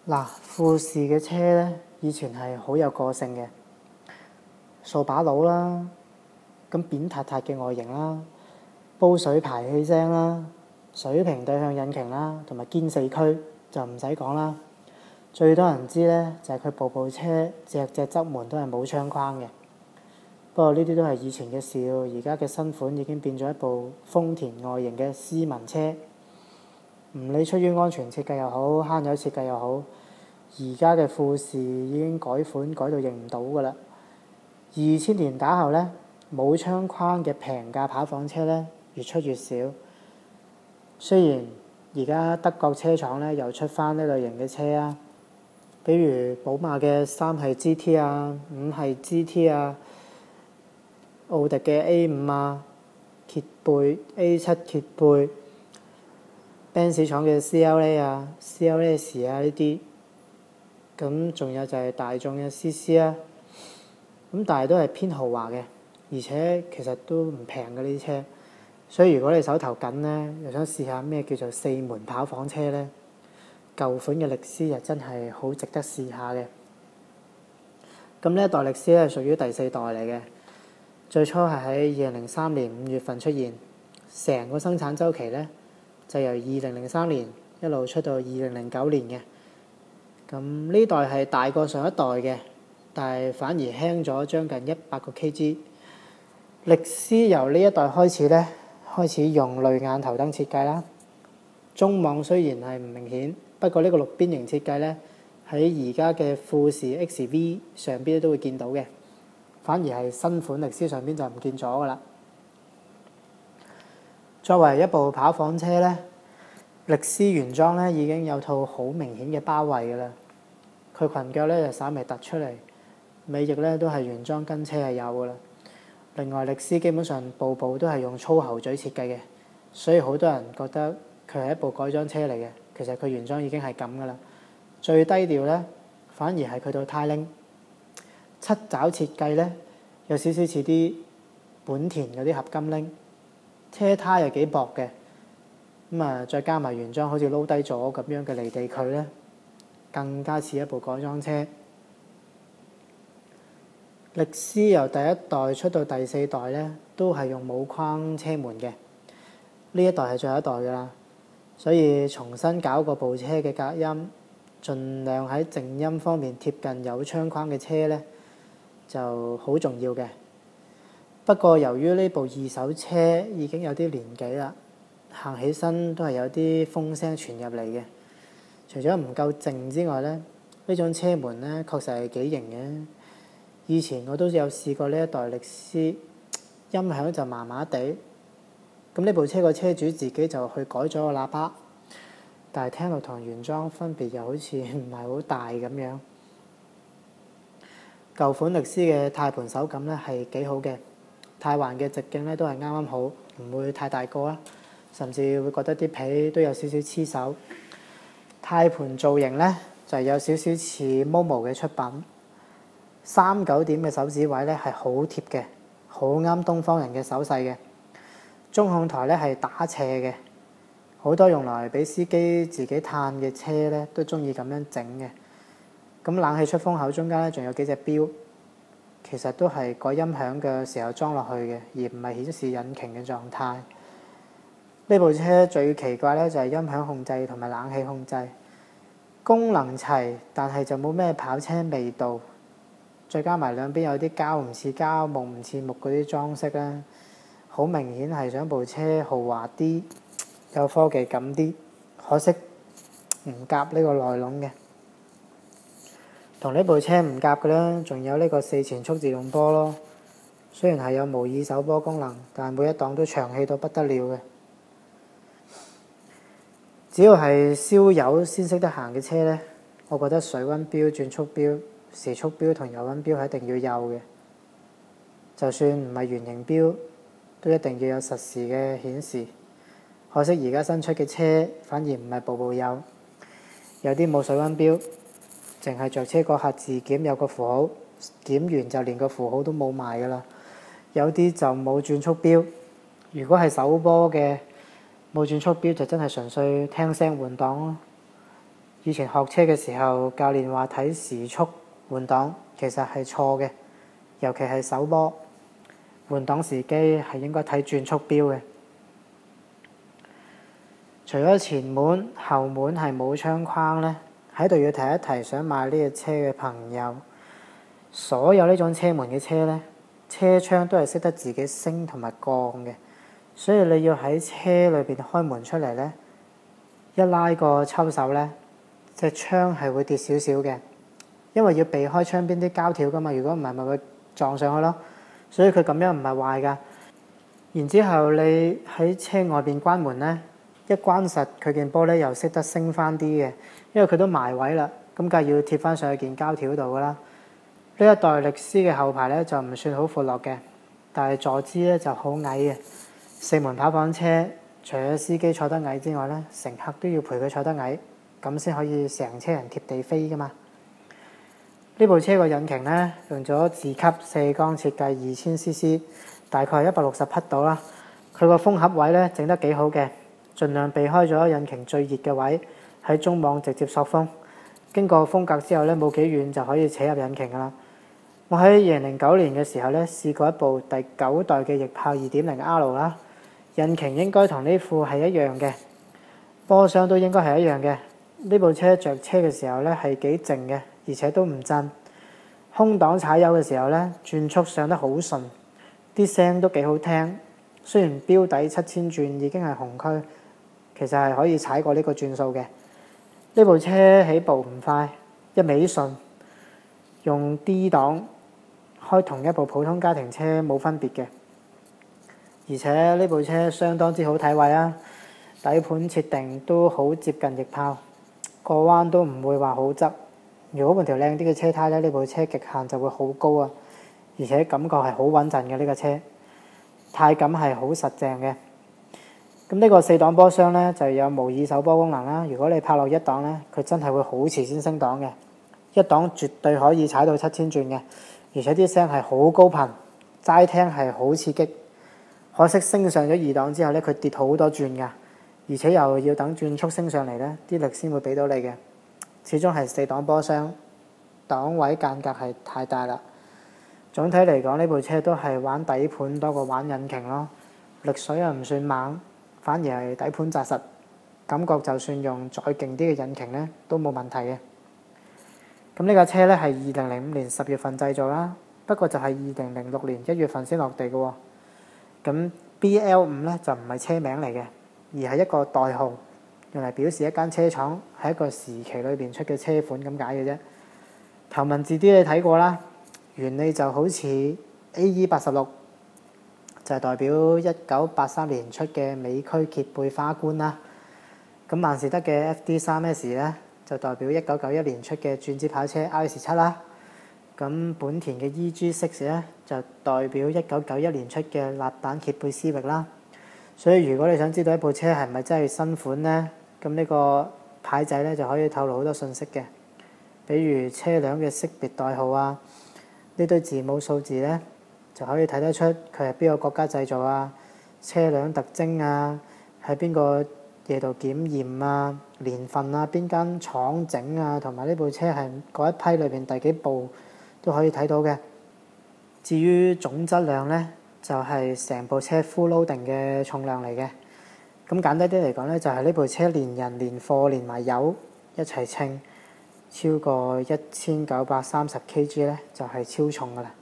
嗱，富士嘅車咧，以前係好有個性嘅，掃把佬啦，咁扁塌塌嘅外形啦，煲水排氣聲啦，水平對向引擎啦，同埋堅四驅就唔使講啦。最多人知咧就係佢部車隻側門都係冇窗框嘅。不過呢啲都係以前嘅事，而家嘅新款已經變咗一部豐田外形嘅斯文車。唔理出於安全設計又好，慳油設計又好，而家嘅富士已經改款改到認唔到㗎啦。2000年打後呢，冇窗框嘅平價跑房車呢越出越少。雖然而家德國車廠呢又出翻呢類型嘅車啊，比如寶馬嘅3系 GT 啊、5系 GT 啊、奧迪嘅 A5 啊、揭背 A7 揭背、Benz 廠嘅 CLA 啊、CLS 啊呢啲，咁仲有就係大眾嘅 CC 啊，咁但係都係偏豪華嘅，而且其實都唔平嘅呢啲車，所以如果你手頭緊呢，又想試下咩叫做4門跑房車呢，舊款嘅力獅又真係好值得試下嘅。咁呢一代力獅咧係屬於第4代嚟嘅，最初係喺2003年5月份出現，成個生產週期呢，就由2003年一路出到2009年嘅。咁呢代係大過上一代嘅，但係反而輕咗將近100個 kg。力獅由呢一代開始呢，開始用淚眼頭燈設計啦。中網雖然係唔明顯，不過呢個綠邊形設計呢，喺而家嘅富士 XV 上邊都會見到嘅，反而係新款力獅上邊就唔見咗㗎啦。作為一部跑房車呢，力獅原裝呢已經有套好明顯嘅包圍㗎啦。佢裙腳呢就稍微突出嚟，尾翼呢都係原裝跟車係有㗎啦。另外力獅基本上部都係用粗喉嘴設計嘅，所以好多人覺得佢係一部改裝車嚟嘅。其實佢原裝已經係咁㗎啦。最低調呢，反而係佢套呔鈴7爪設計呢，有少少似啲本田嗰啲合金鈴，車胎又幾薄嘅，再加埋原裝好似撈低咗咁樣嘅離地距呢，更加似一部改裝車。力獅由第一代出到第4代呢，都係用冇框車門嘅，呢一代係最後一代㗎啦。所以重新搞過部車嘅隔音，盡量喺靜音方面貼近有窗框嘅車呢，就好重要嘅。不過由於呢部二手車已經有啲年紀啦，行起身都係有啲風聲傳入嚟嘅。除咗唔夠靜之外呢，呢種車門呢確實係幾型嘅。以前我都有試過呢一代力獅，音響就麻麻地。咁呢部車個車主自己就去改咗個喇叭，但係聽落同原裝分別又好似唔係好大咁樣。舊款力獅嘅軚盤手感呢係幾好嘅，軚環嘅直徑呢都係啱啱好，唔會太大個啦，甚至會覺得啲皮都有少少黐手。軚盤造型呢就有少少似 Momo 嘅出品，39點嘅手指位呢係好貼嘅，好啱東方人嘅手勢嘅。中控台呢係打斜嘅，好多用來俾司機自己嘆嘅車呢都中意咁樣整嘅。咁冷氣出風口中間呢仲有幾隻錶，其實都係改音響嘅時候裝落去嘅，而唔係顯示引擎嘅狀態。呢部車最奇怪呢就係音響控制同埋冷氣控制，功能齊，但係就冇咩跑車味道。再加埋兩邊有啲膠唔似膠、木唔似木嗰啲裝飾咧，好明顯係想部車豪華啲，有科技感啲。可惜唔夾呢個內籠嘅。同呢部車唔夾嘅咧，仲有呢個4前速自動波咯。雖然係有模擬手波功能，但係每一檔都長氣到不得了嘅。只要係燒油先識得行嘅車呢，我覺得水溫錶、轉速錶、時速錶同油溫錶係一定要有嘅。就算唔係圓形錶，都一定要有實時嘅顯示。可惜而家新出嘅車反而唔係部有，有啲冇水溫錶，淨係着車嗰下自檢有個符號，檢完就連個符號都冇埋㗎啦。有啲就冇轉速錶，如果係手波嘅冇轉速錶就真係純粹聽聲換擋咯。 以前學車嘅時候，教練話睇時速換擋其實係錯嘅，尤其係手波換擋時機係應該睇轉速錶嘅。除咗前門，後門係冇窗框呢，喺度要提一提想買呢隻車嘅朋友，所有呢種車門嘅車呢，車窗都係識得自己升同埋降嘅，所以你要喺車裏邊開門出嚟呢，一拉個抽手呢，隻窗係會跌少少嘅，因為要避開窗邊啲膠條噶嘛，如果唔係咪會撞上去咯，所以佢咁樣唔係壞噶。然之後你喺車外邊關門呢，一關實佢件玻璃又識得升翻啲嘅，因為佢都埋位啦，咁梗係要貼翻上去件膠條度噶啦。呢一代力獅嘅後排呢，就唔算好闊落嘅，但係坐姿呢就好矮嘅。四門跑房車除咗司機坐得矮之外呢，乘客都要陪佢坐得矮，咁先可以成車人貼地飛噶嘛。呢部車個引擎呢，用咗自吸四缸設計2000cc， 大概160匹到啦。佢個風盒位呢，整得幾好嘅，盡量避開咗引擎最熱嘅位，喺中網直接索風。經過風格之後呢，冇幾遠就可以扯入引擎噶啦。我喺2009年嘅時候呢，試過一部第9代嘅翼豹 2.0R 啦，引擎應該同呢副係一樣嘅，波箱都應該係一樣嘅。呢部車着車嘅時候呢，係幾靜嘅，而且都唔震。空檔踩油嘅時候呢，轉速上得好順，啲聲都幾好聽。雖然標底7000轉已經係紅區，其實係可以踩過呢個轉數嘅。呢部車起步唔快，一味順，用 D 檔開同一部普通家庭車冇分別嘅。而且呢部車相當之好睇位啊，底盤設定都好接近翼豹，過彎都唔會話好側。如果換條靚啲嘅車胎呢部車極限就會好高啊，而且感覺係好穩陣嘅。呢個車軚感係好實淨嘅。咁呢個4檔波箱呢，就有模擬手波功能啦。如果你泊落1檔呢，佢真係會好遲先升檔嘅，1檔絕對可以踩到7000轉嘅，而且啲聲係好高頻，齋聽係好刺激。可惜升上咗2檔之後呢，佢跌好多轉㗎，而且又要等轉速升上嚟呢，啲力先會俾到你嘅。始終係4檔波箱，檔位間隔係太大啦。總體嚟講，呢部車都係玩底盤多過玩引擎咯，力水又唔算猛，反而係底盤紮實，感覺就算用再勁啲嘅引擎呢，都冇問題嘅。咁呢架車呢，係2005年10月份製造啦，不過就係2006年1月份先落地嘅喎。咁 BL5 呢，就唔係車名嚟嘅，而係一個代號，用嚟表示一間車廠喺一個時期裏邊出嘅車款咁解嘅啫。頭文字 D 你睇過啦，原理就好似 AE86，就係代表1983年出嘅美區揭背花冠啦。咁萬事得嘅 FD3S 呢，就代表1991年出嘅轉子跑車 RS7 啦。咁本田嘅 EG6 呢，就代表1991年出嘅辣蛋揭背思域啦。所以如果你想知道一部車係咪真係新款呢，咁呢個牌仔呢，就可以透露好多信息嘅，比如車輛嘅識別代號啊，呢堆字母數字呢，就可以睇得出佢係邊個國家製造啊，車輛特徵啊，喺邊個嘢度檢驗啊，年份啊，邊間廠整啊，同埋呢部車係嗰一批裏邊第幾部都可以睇到嘅。至於總質量呢，就係成部車 full loading 嘅重量嚟嘅。咁簡單啲嚟講呢，就係呢部車連人連貨連埋油一齊稱，超過1930kg呢，就係超重噶啦。